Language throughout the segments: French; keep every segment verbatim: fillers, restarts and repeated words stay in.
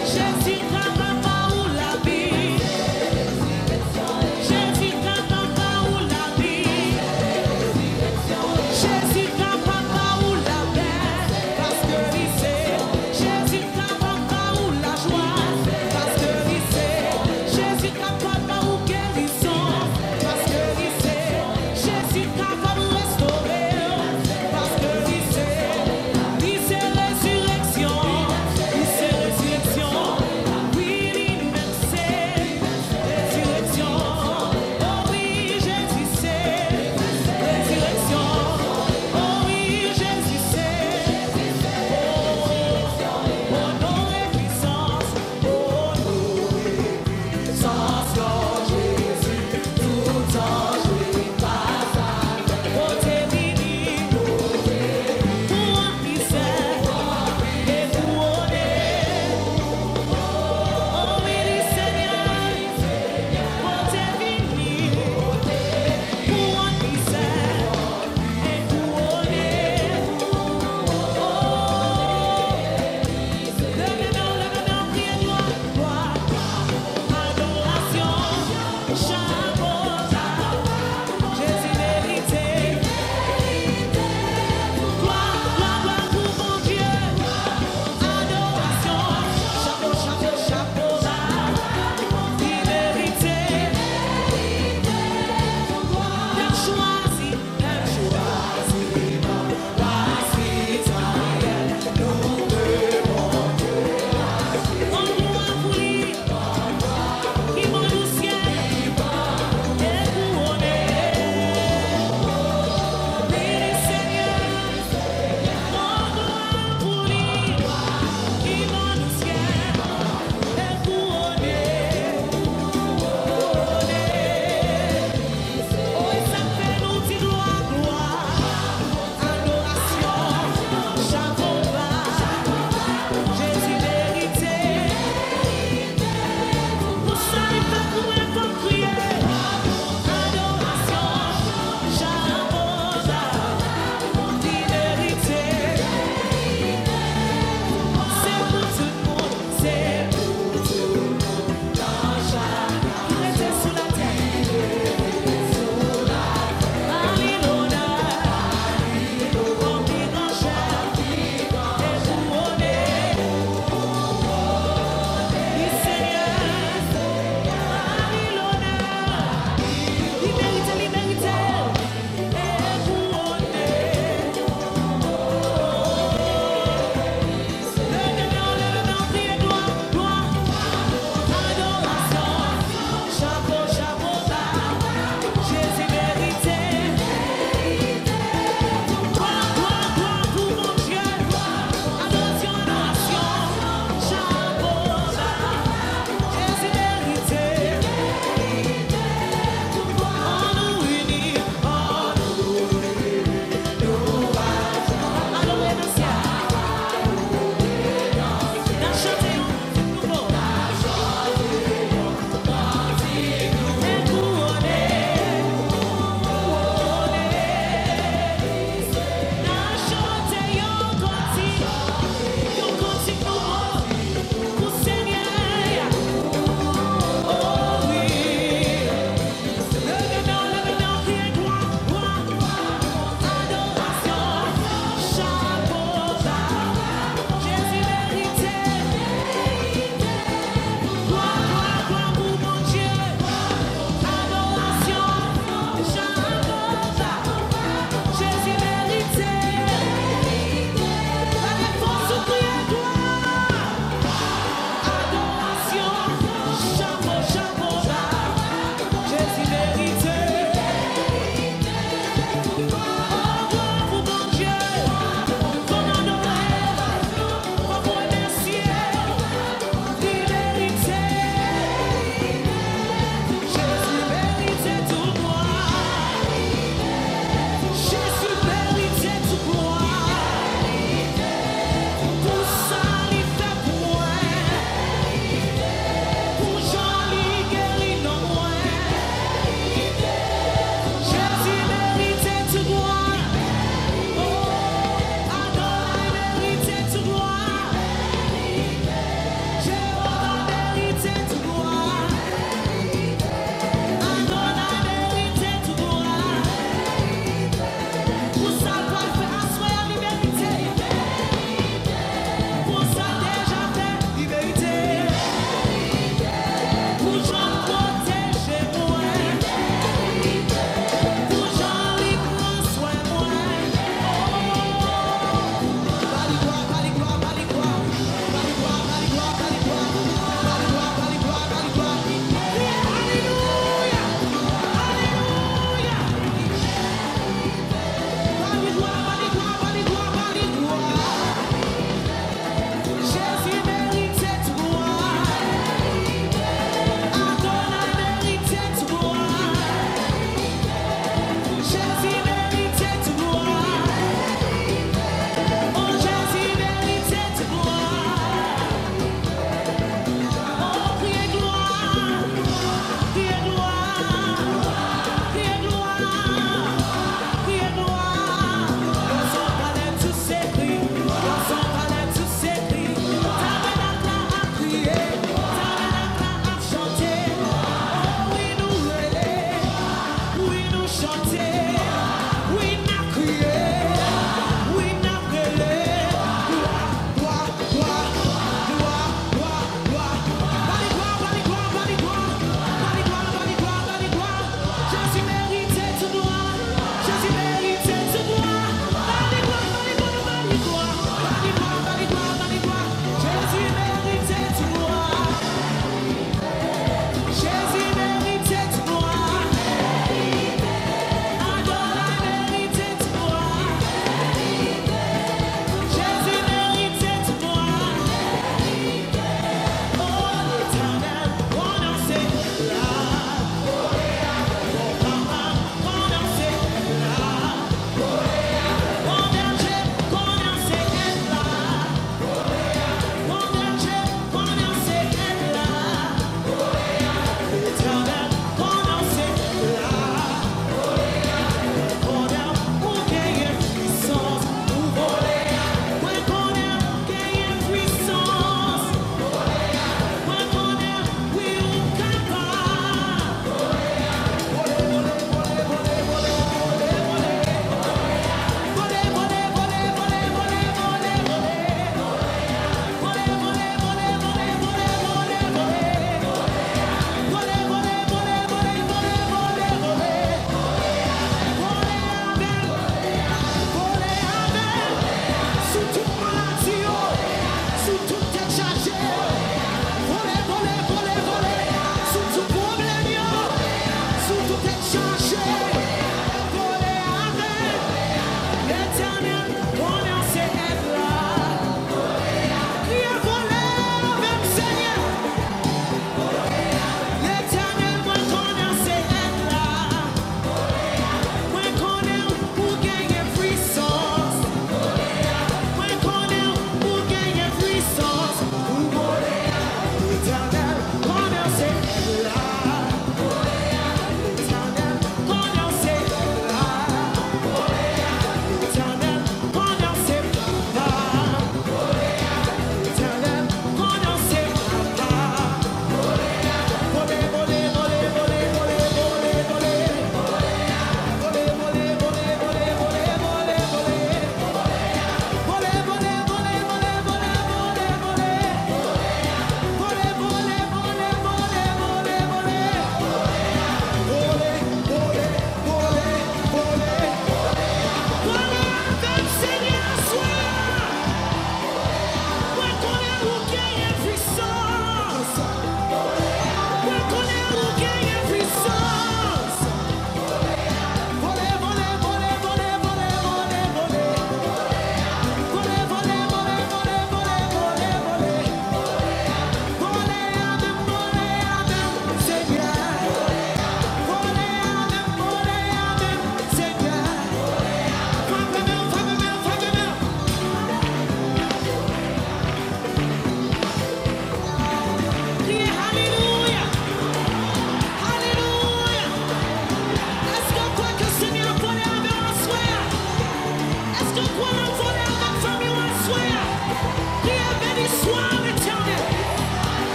Jésus capable ou la vie. Jésus capable ou la vie. Jésus capable ou la paix, parce que il sait. Jésus capable ou la joie, parce que il sait. Jésus capable ou guérison, parce que il sait. Jésus capable de restaurer, parce que il sait. Il sait résurrection, il sait résurrection,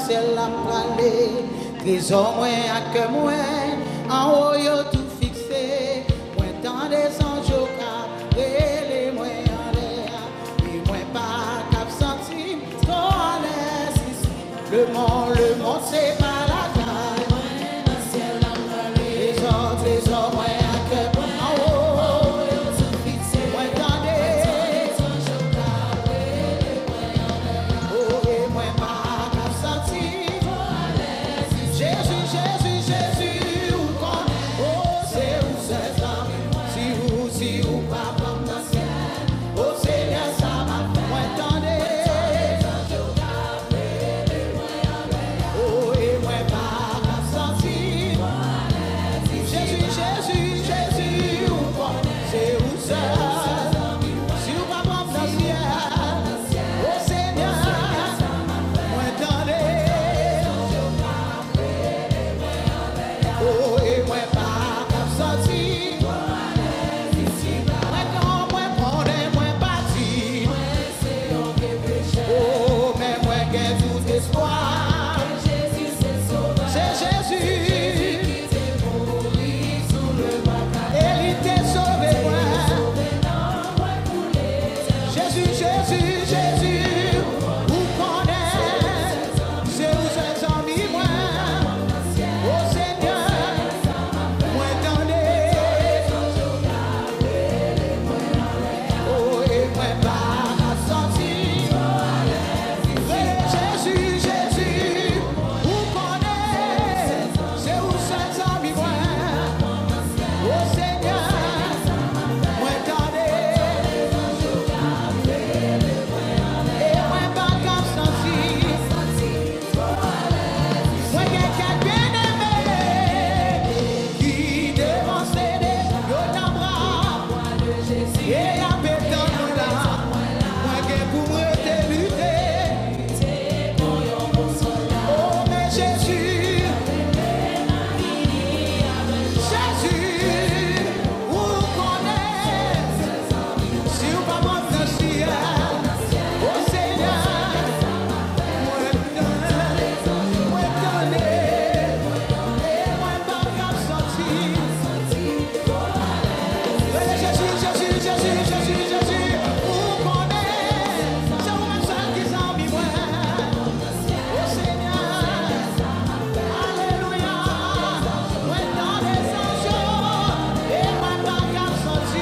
ciel la pralé, trésor moi à que moi, en haut yo tout fixé, moi dans des anges au cap, les moi en l'air, et moi pas cap senti, trop à l'aise ici. Le monde, le monde c'est pas la taille, moi dans ciel la pralé, trésor, trésor moi à que moi, en haut yo tout fixé, moi dans des anges au cap, oh et moi pas cap senti, trop à l'aise ici. Jésus, Jésus, Jésus, où qu'on est, oh c'est où c'est ça, si où, si où pas comme dans le ciel, oh Seigneur ça m'a fait, moi attendez, oh et moi pas cap senti, Jésus, Jésus, Jésus, où qu'on est, c'est où c'est, si où pas comme dans le ciel, oh Seigneur, moi attendez, oh et moi pas cap senti, moi quand moi prendre moi parti, oh mais moi gain tout espoir, c'est Jésus, et il t'a sauvé moi, Jésus, Jésus, Jésus, où qu'on est, c'est où c'est amis moi, oh Seigneur, moi attendez, oh et moi pas senti, Jésus, Jésus, où qu'on est, c'est où c'est amis moi, oh Seigneur, moi attendez, et moi pas comme senti, moi quelqu'un bien aimé, qui dévance des dans bras, et y a pétant moi là, moi qui pour moi te lutter, oh mais Jésus, Jésus, où qu'on est, si ou pas mon dans le ciel, oh Seigneur, moi donner, moi donner, et moi pas cap senti, Jésus, Jésus, Jésus, Jésus, Jésus, où qu'on est, c'est où même seul qui s'en vit moi, oh Seigneur, alléluia, moi dans les anges, et moi pas cap senti,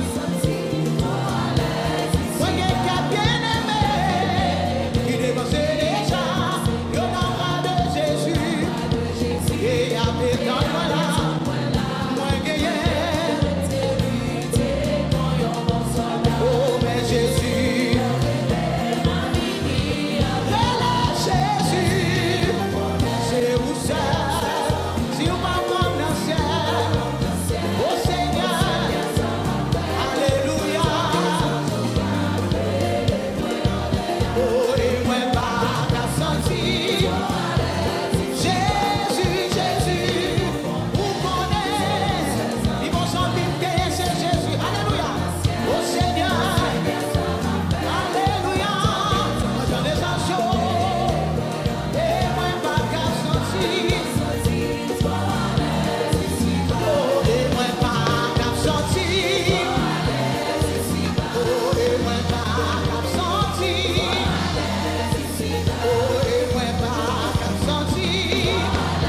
moi quelqu'un bien aimé, qui dépense déjà, yo dans bras de Jésus, et y a pétant moi là, moi gagné, oh mais Jésus, Jésus, c'est où ça, si on va prendre dans le ciel, oh Seigneur, alléluia, oh et moi pas qu'à sentir, Jésus, Jésus, où qu'on est, ils vont sentir que c'est Jésus, alléluia, oh Seigneur, alléluia, moi dans les anges, et moi pas qu'à sentir, oh et moi pas qu'à sentir, oh et moi pas qu'à sentir, oh et moi pas qu'à sentir,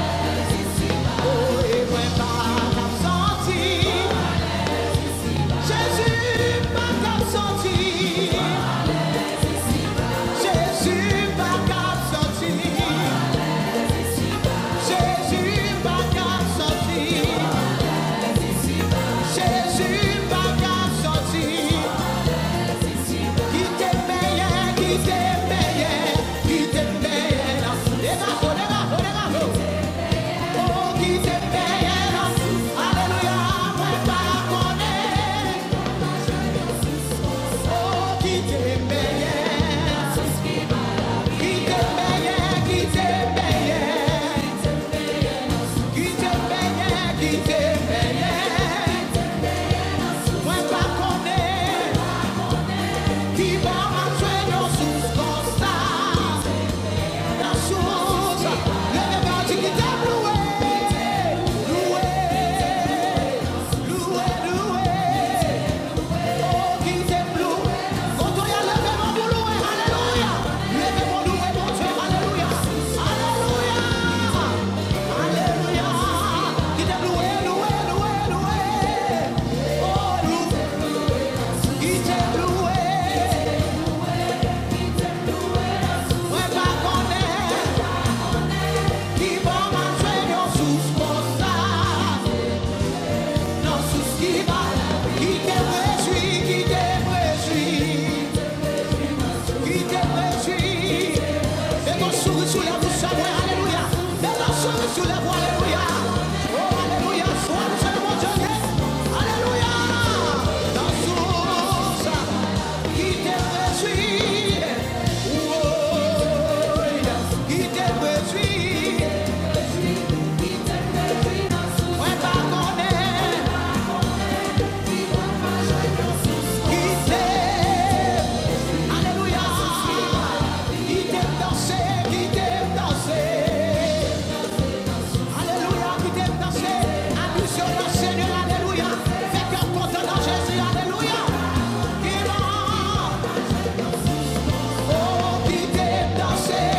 oh et moi pas qu'à sentir, Jésus pas qu'à sentir, Jésus pas qu'à sentir, Jésus pas qu'à sentir, Jésus pas qu'à sentir, qui t'aime bien, qui t'aime bien, qui t'aime bien, les gars, les gars, les gars, oh qui t'aime bien, alléluia, moi pas connaître, oh qui t'aime bien, qui t'aime bien, qui t'aime bien, qui t'aime bien, qui t'aime bien, moi pas connaître, qui va m'entraîner sous constat, la source souris sous les bouches, alléluia. Belle souris sous les voix, alléluia. Oh, alléluia. Sois le Seigneur, mon Dieu. Alléluia. Dans source qui te réjouit. Oh, qui te réjouit. Ouais, pardonnez. Qui t'aime. Alléluia. Qui t'aime danser, qui t'aime danser. Alléluia, qui t'aime danser. Appuie sur le Seigneur, alléluia. Fais cœur content dans Jésus, alléluia. Qui va. Oh, qui t'aime danser.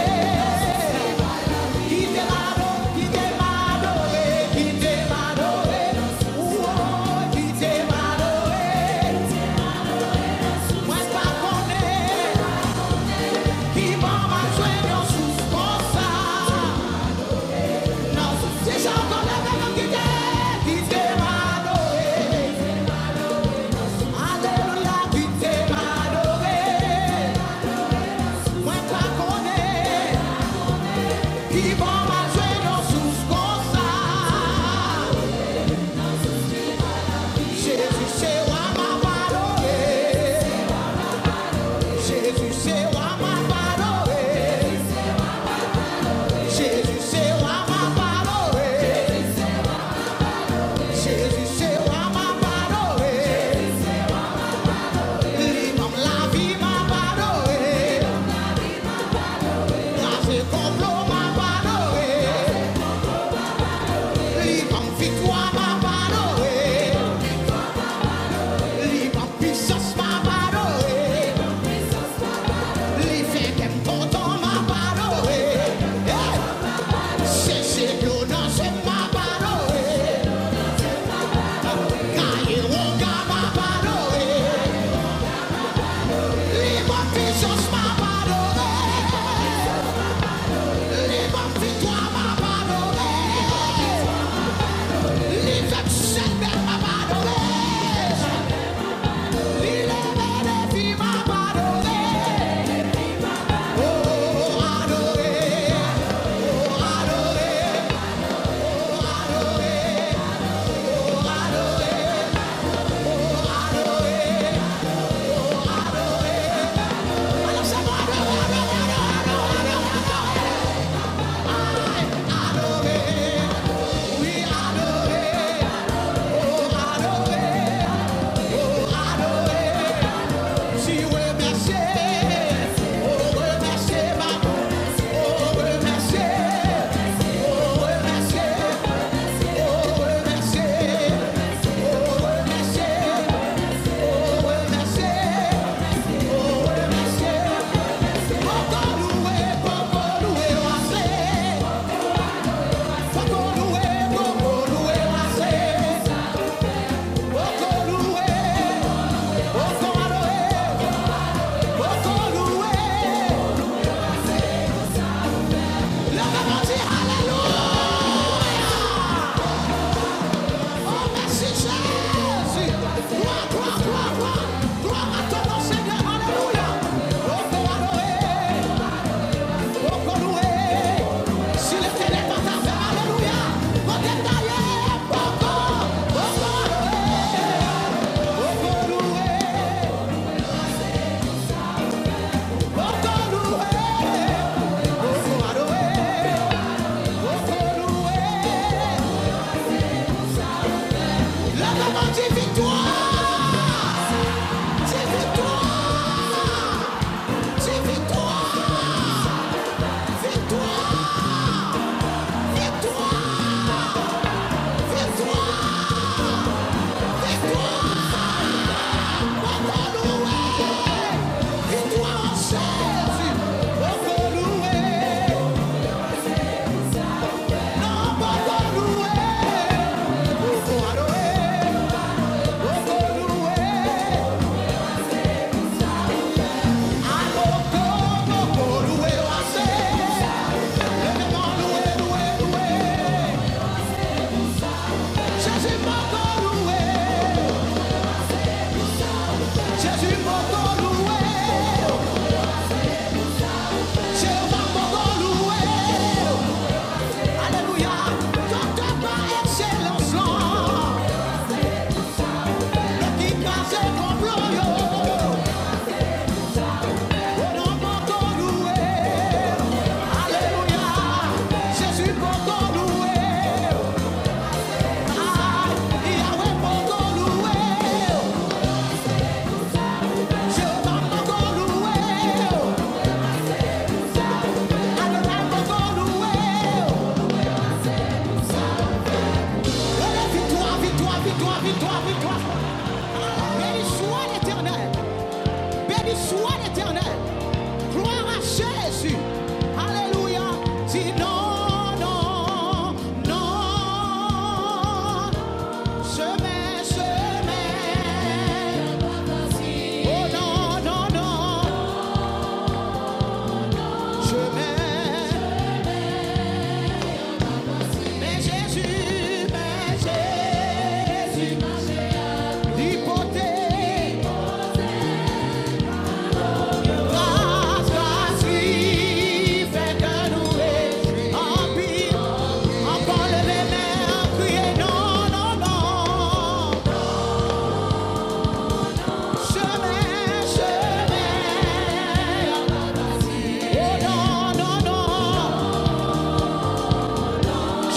Qui t'aime adorer, qui t'aime adorer, qui t'aime adorer. Oh, qui t'aime adorer. Moi, pas connaître. Qui va m'a joindre sous comme ça. Non, c'est ça qu'on a vraiment qui t'aime, qui t'aime adorer. Alléluia, qui t'aime adorer. Moi, pas connaître. Qui va m'a joindre sous comme ça. Jésus, c'est moi m'a adorer. Jésus, c'est moi m'a adorer. Jésus, c'est moi m'a adorer. Jésus, c'est moi m'a adorer. L'imam la vie m'a adorer. La c'est complot m'a adorer.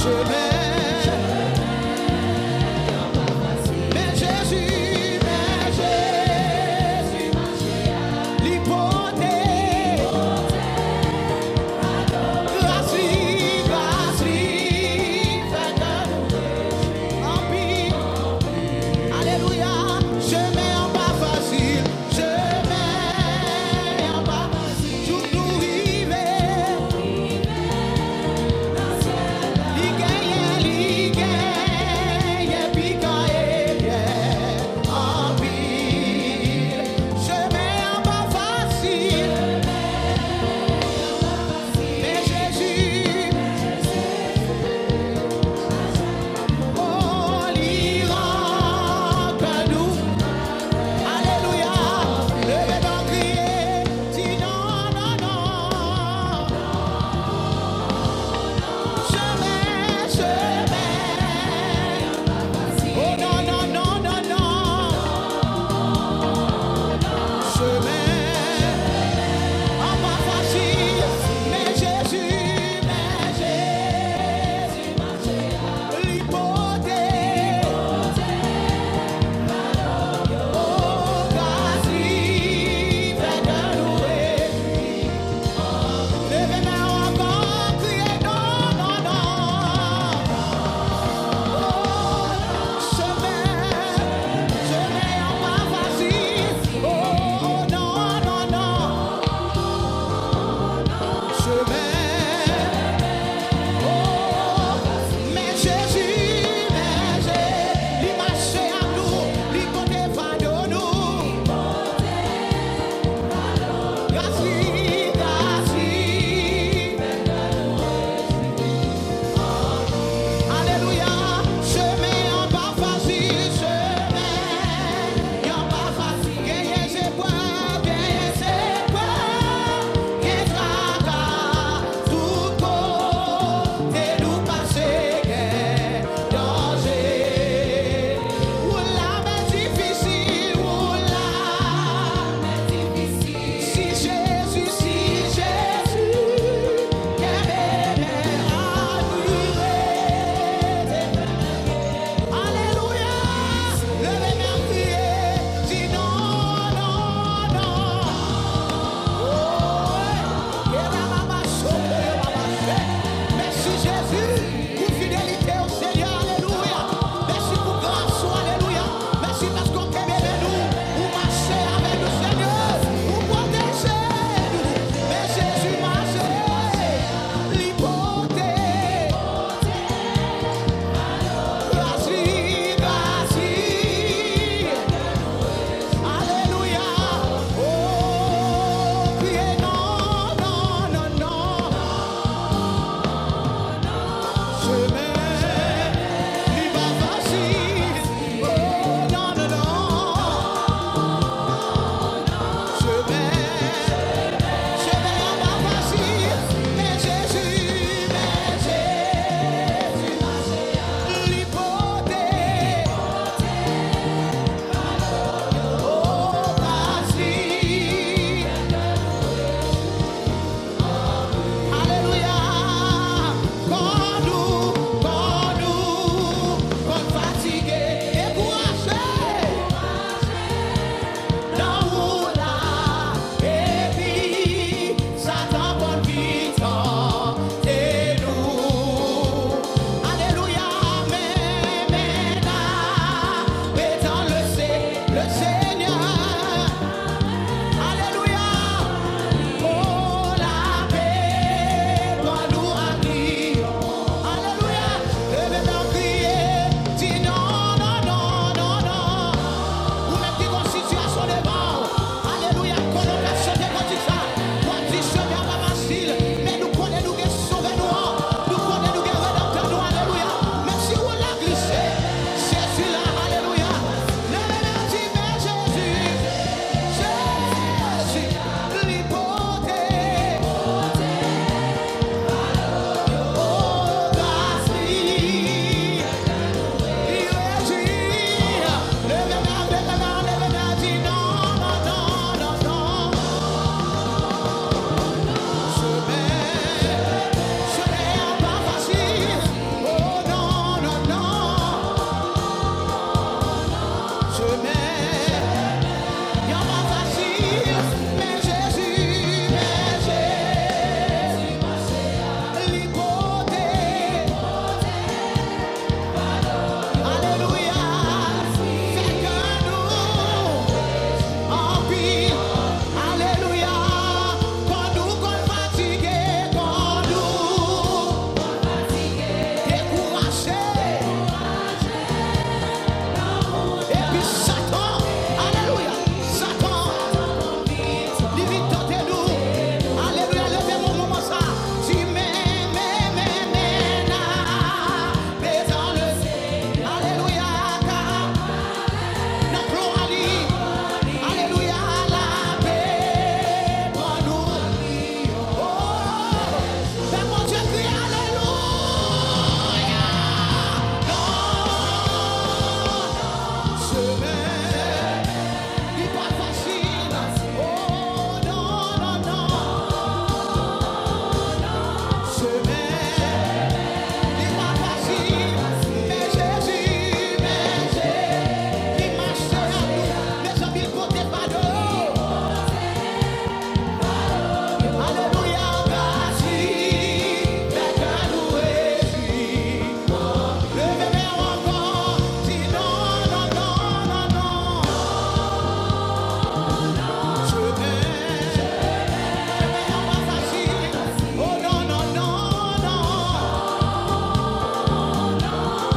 Li genyen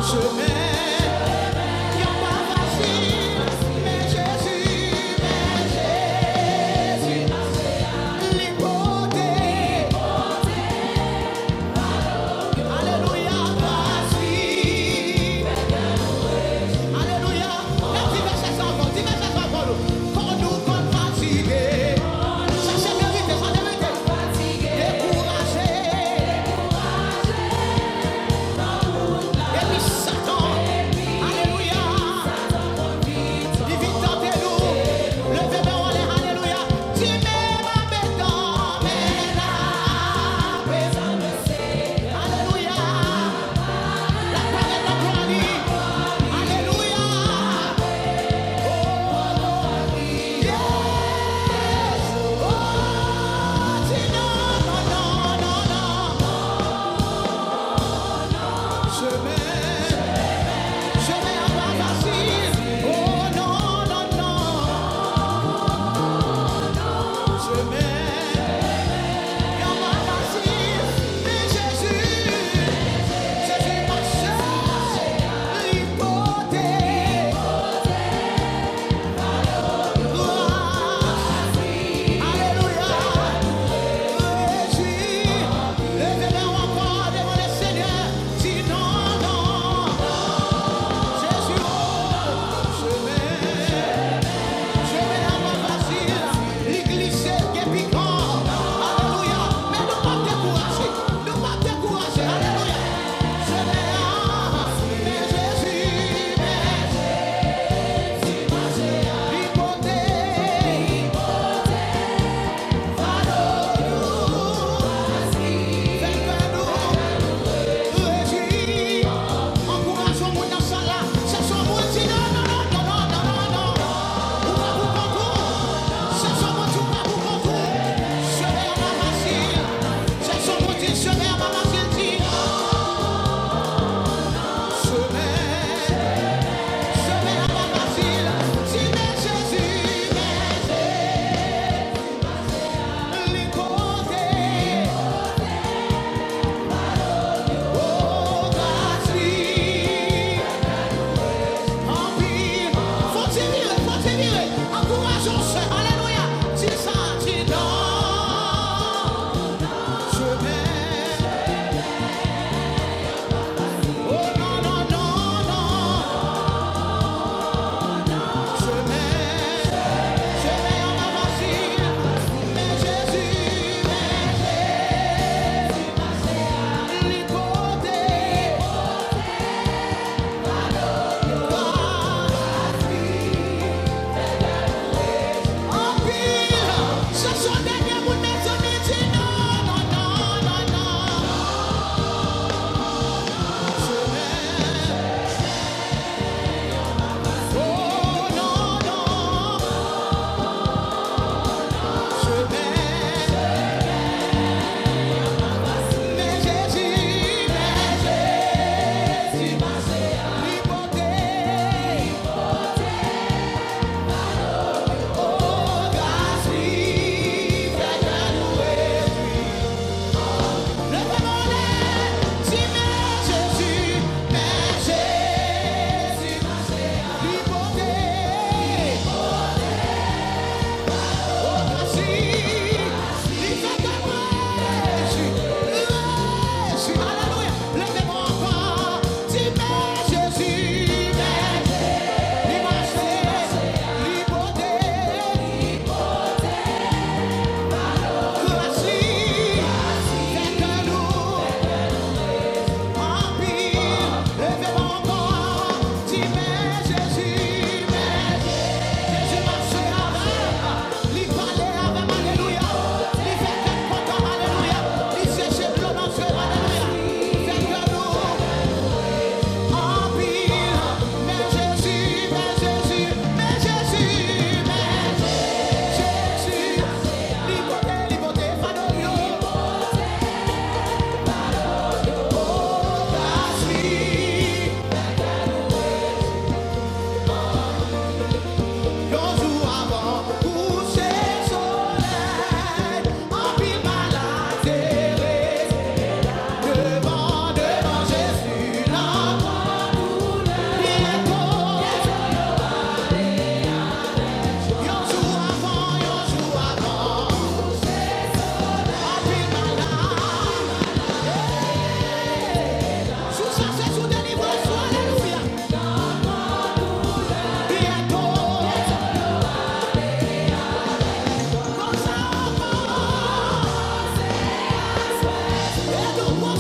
Satan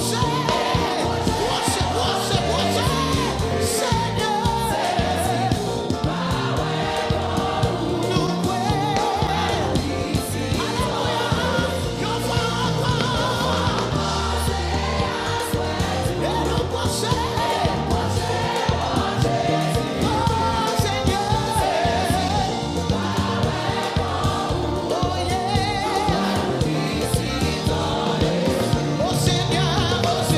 Oh Seigneur, oh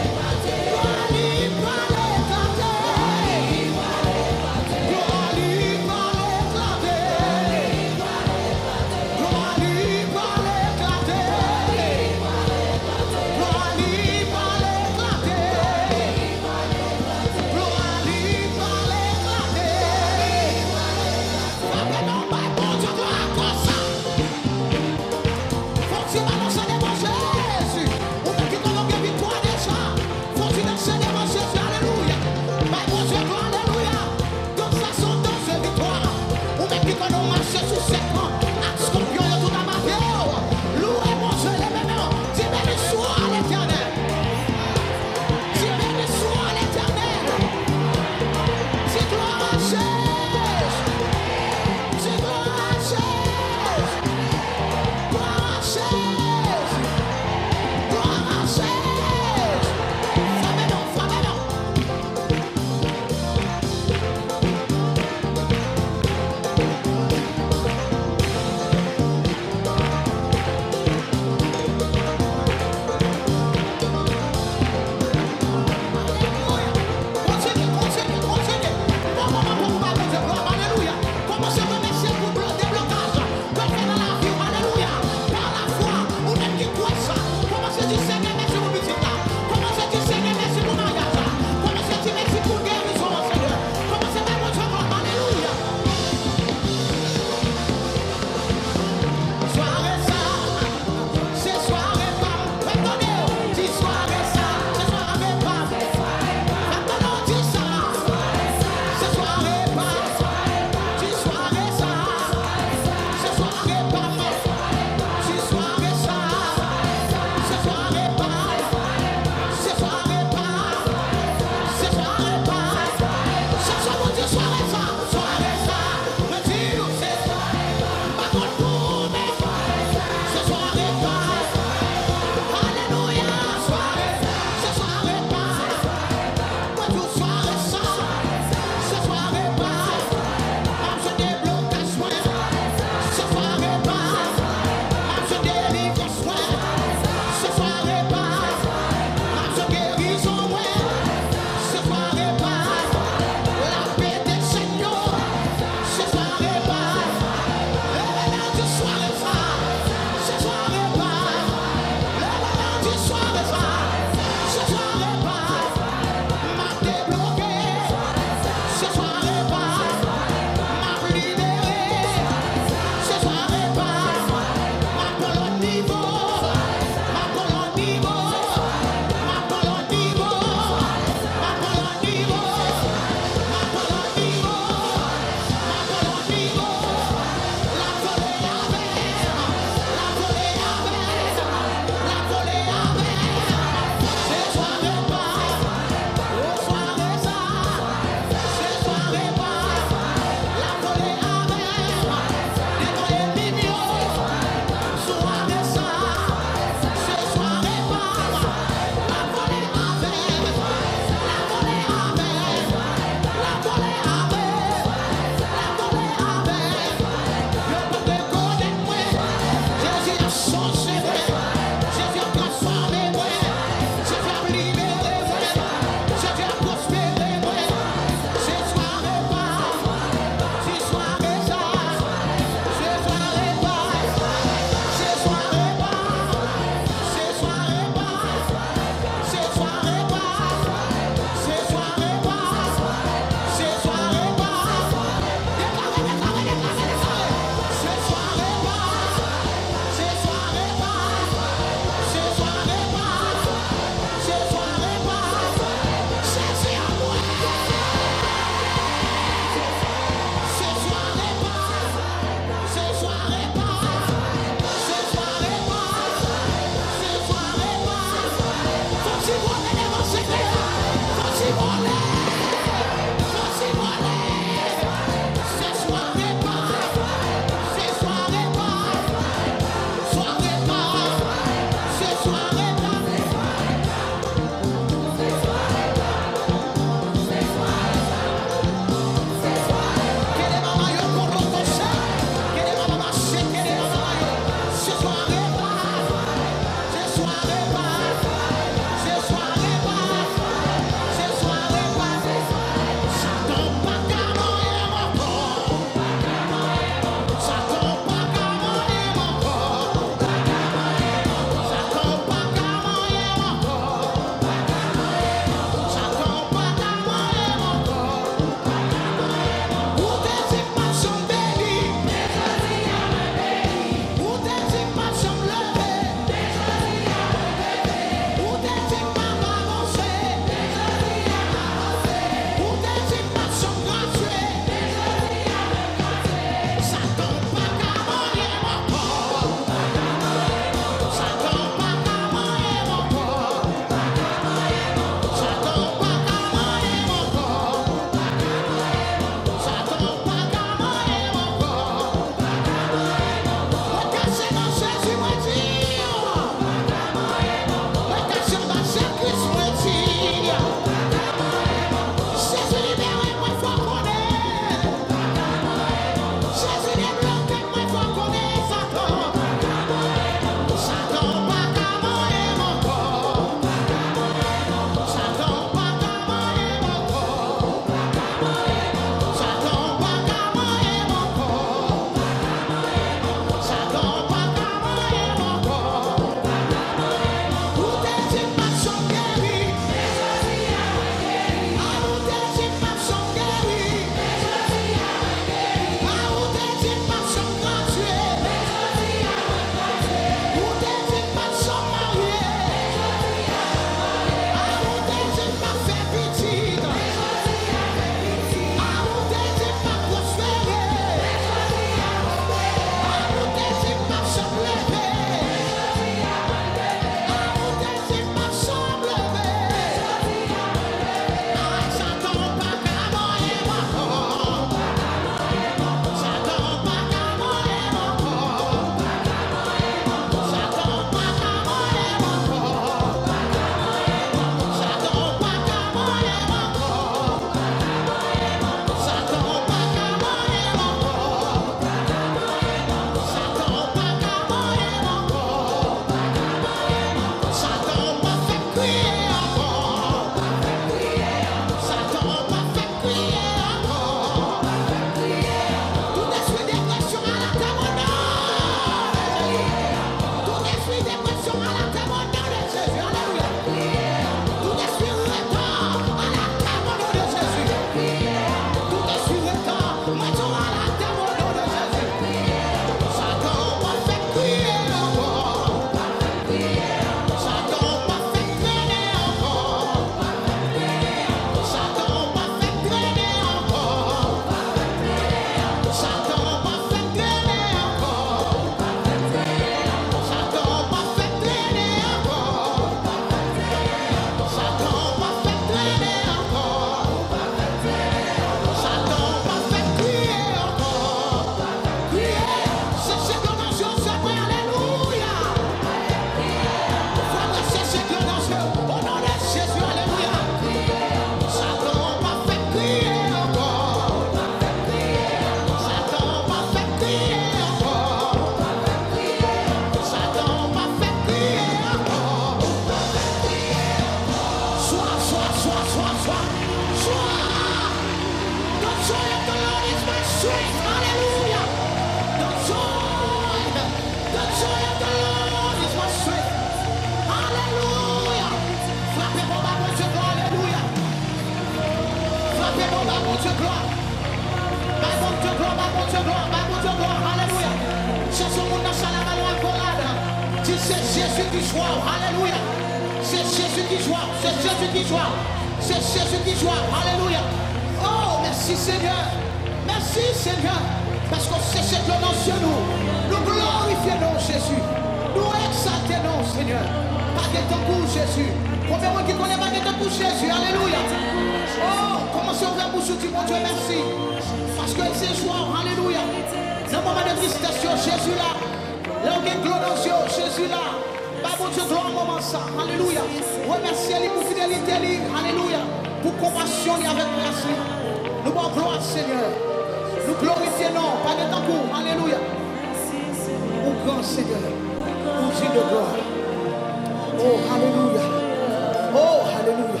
strength. Hallelujah. The joy, the joy of the Lord is my strength. Hallelujah. Frappez mon bas, mon Dieu, gloire. Alléluia. Frappez mon bas, mon Dieu, gloire. Bah, mon Dieu, gloire, bah, mon Dieu, gloire, bah, mon Dieu, gloire. Alléluia. Cherche mon nom, ça la main à colade. Dis c'est Jésus qui joue. Alléluia. C'est Jésus qui joue. C'est Jésus qui joue. C'est Jésus qui joue. Alléluia. Oh, merci Seigneur. Merci Seigneur. Parce que c'est ce que l'on sur nous. Nous glorifions Jésus. Nous exaltons Seigneur. Pas de ton pour Jésus. Combien de monde qui connaît pas de ton pour Jésus? Alléluia. Oh, commencez à ouvrir bouche dit mon Dieu merci. Parce que c'est joie. Alléluia. Dans le moment de tristesse, Jésus là. Là où il y a gloire dans Dieu, Jésus là. Bah mon Dieu, gloire au moment ça. Alléluia. Remerciez-lui pour fidélité. Alléluia. Pour compassion avec merci. Nous bon gloire Seigneur. Nous glorifions, pas de temps pour. Alléluia. Au grand Seigneur. Au Dieu de gloire. Oh, alléluia. Oh, alléluia.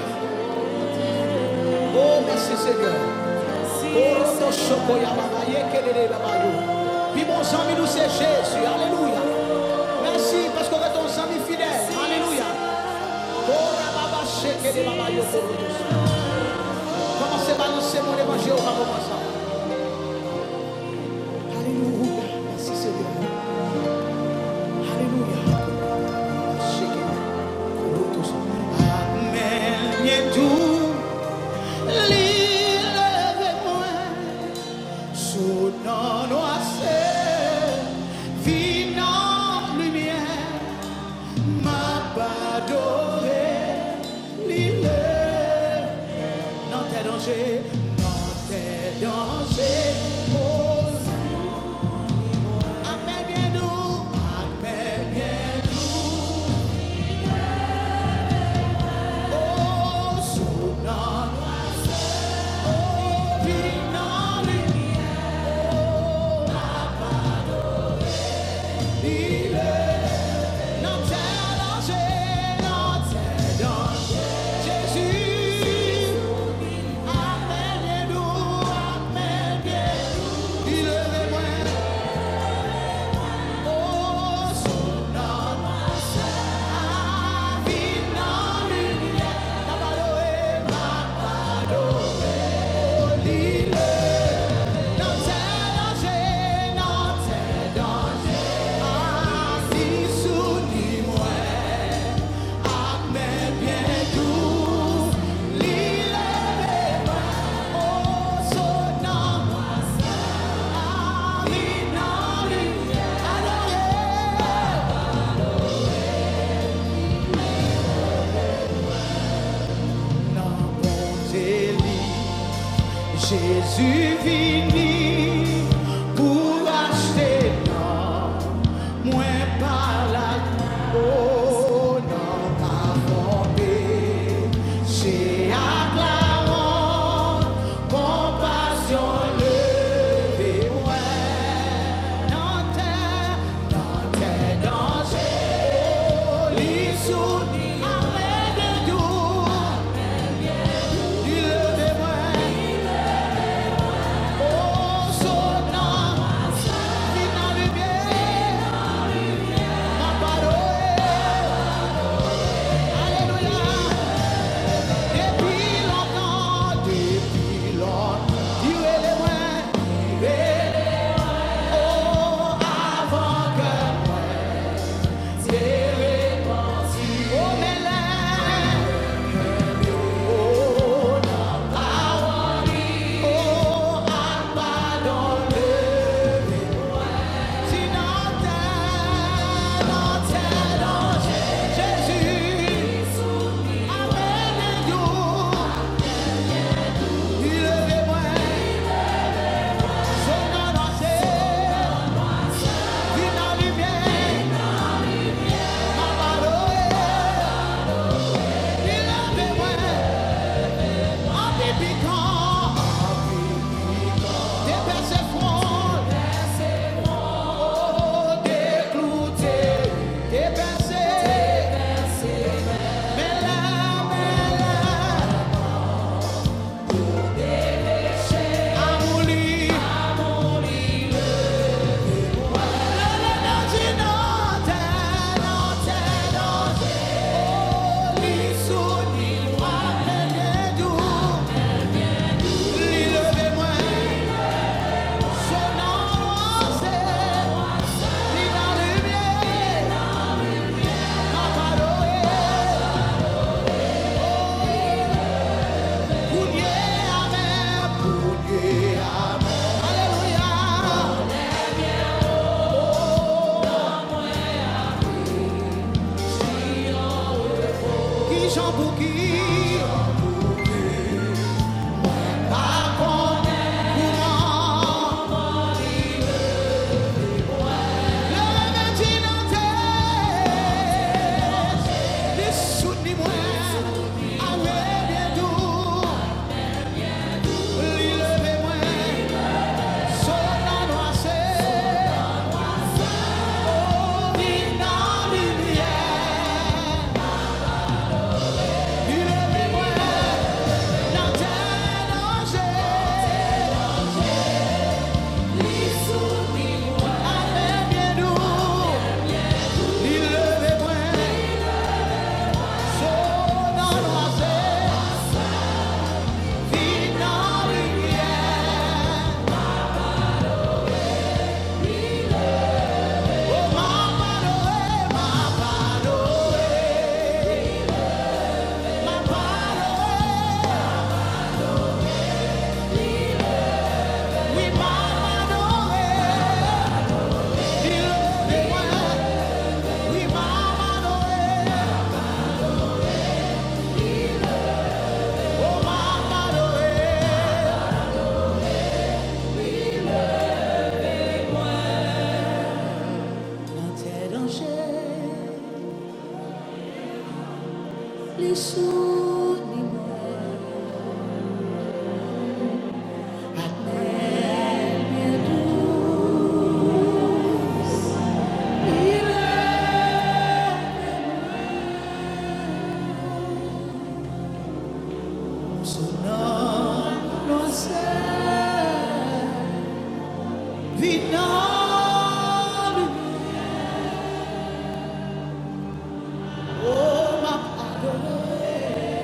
Oh, merci Seigneur. Oh, notre chocolat, babaye, kelele, babayou. Puis mon ami nous c'est Jésus. Alléluia. Merci parce qu'on est ton ami fidèle. Alléluia. Oh, baba, kelele, babayou. Commencez à balancer mon évangile au moment ça. Alléluia. Merci Seigneur. Alléluia. Amen. Bien doux. L'île avec moi. Sous nos noiselles. Vinant lumière. M'a pas adoré. L'île. Non, t'es danger. Non, t'es danger. Oh. Amen. Bien doux. Amen. Bien doux. Oh, sous nos noiselles. Oh, vinant lumière. Oh, m'a pas adoré. L'île. Non, t'es danger. Non, t'es danger. Jésus. Amen, bien doux. Amen, bien doux. L'île est moi. Oh, sous nos noiselles. Vinant lumière. M'a pas adoré. M'a pas adoré. Oh, l'île. Non, t'es danger. Non, t'es danger. Ah, si souris-moi. Amen, bien doux. L'île est moi. Oh, sous nos noiselles. Ah, vinant lumière. Non, bonté li, Jésus vini pour acheter non, moins par la oh non pas fondé, c'est acclamant, compassion levée ouais, non t'es, non t'es danger, oh l'issue, amen de tout, il levait moi. Oh, so Oh, ma pardonne.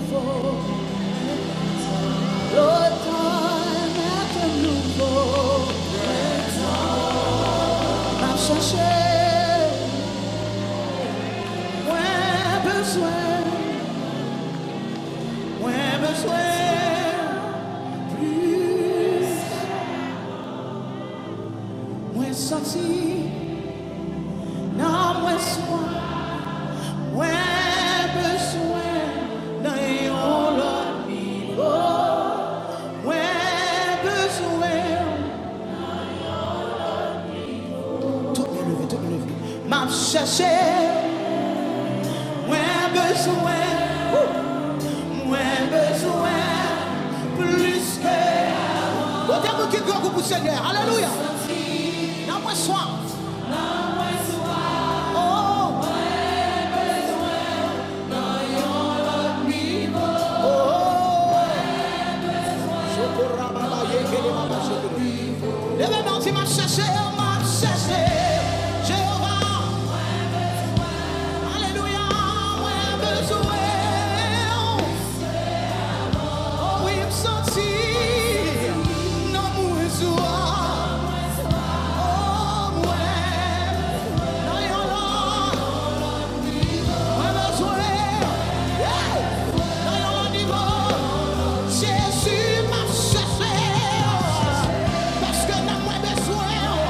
nouveau. L'automne est un nouveau. M'a cherché. Moins besoin. Moins besoin. Plus. Moins senti. Non, moins soin. Moins besoin. Dans yon l'autre niveau. Moins besoin. Tout me lever, tout me lever. M'a cherché. Moins besoin. Moins besoin. Plus que. Au terme qui goûte pour Seigneur. Alléluia. Non, moins soin. Lève-moi, tu m'as cherché, m'a cherché, Jéhovah. Alléluia, moins besoin. Oh oui, me sentir, non, moins soin. Oh, moins, non, yon là, moins besoin. Non, yon là, niveau, Jésus m'a cherché. Parce que n'a moins besoin.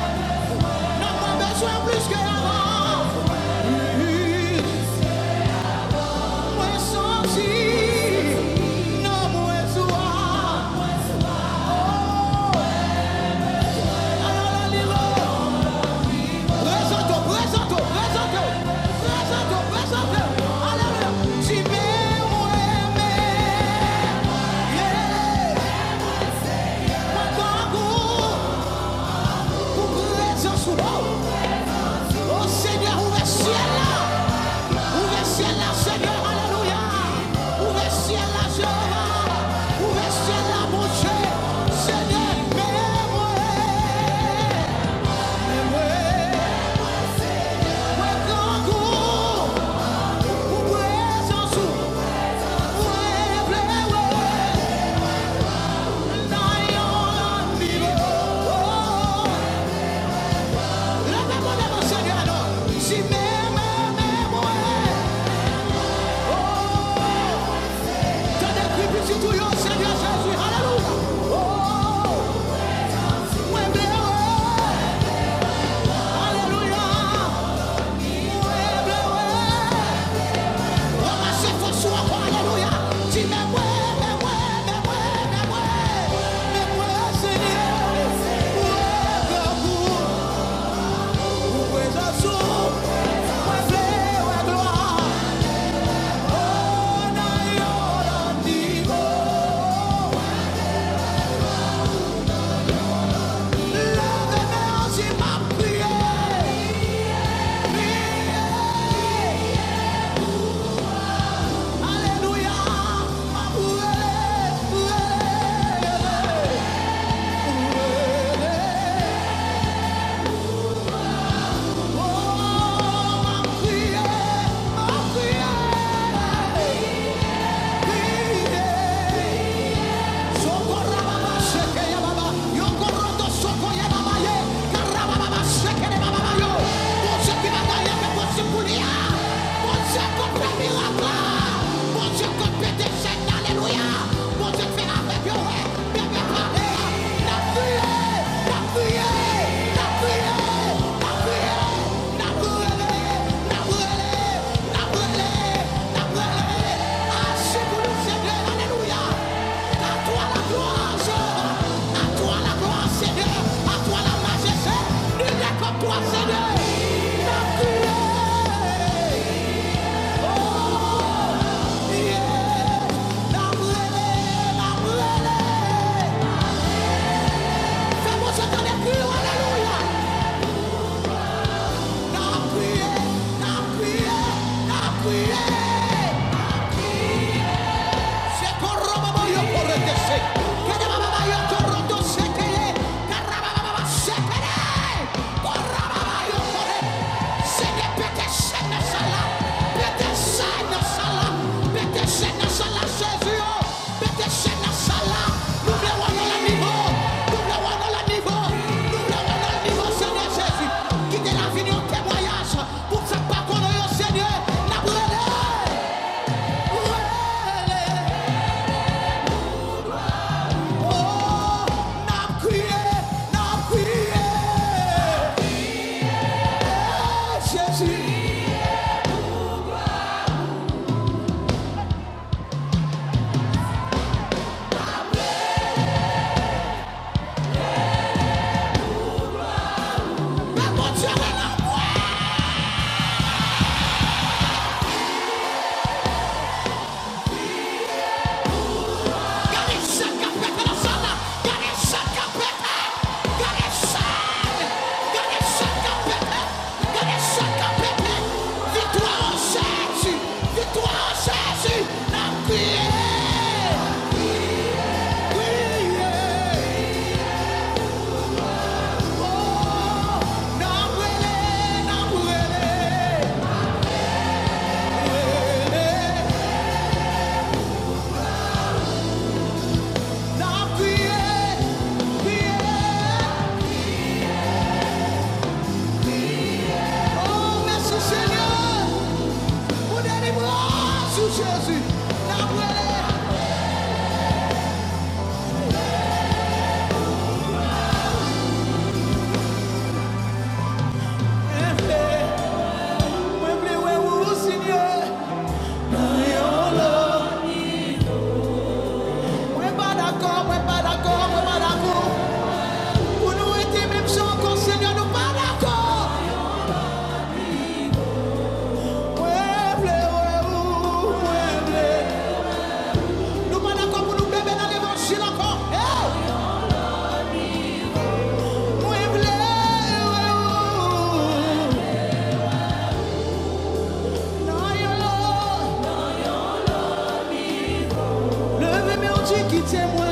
Jésus qui t'aime, moi.